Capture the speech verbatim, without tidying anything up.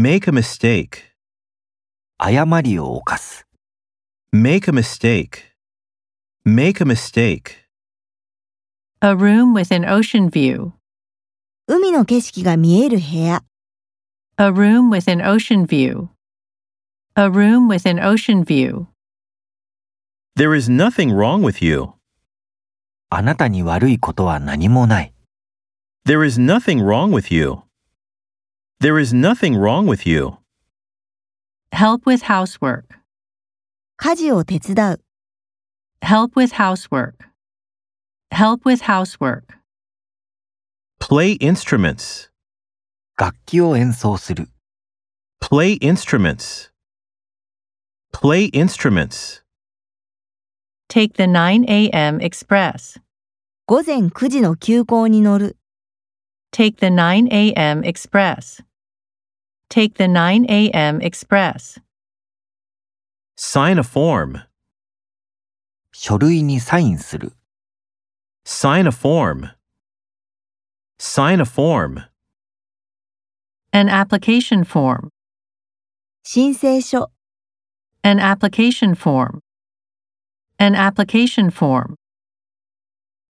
Make a mistake. 誤りを犯す。 Make a mistake. Make a mistake. A room with an ocean view. 海の景色が見える部屋。 A room with an ocean view. A room with an ocean view. There is nothing wrong with you. あなたに悪いことは何もない。 There is nothing wrong with you. There is nothing wrong with you. Help with housework. 家事を手伝う。 Help with housework. Help with housework. Play instruments. 楽器を演奏する。 Play instruments. Play instruments. Take the nine a.m. express. 午前くじの急行に乗る。 Take the nine a.m. express. Take the nine a.m. express. Sign a form. 書類にサインする。 Sign a form. Sign a form. An application form. 申請書。 An application form. An application form.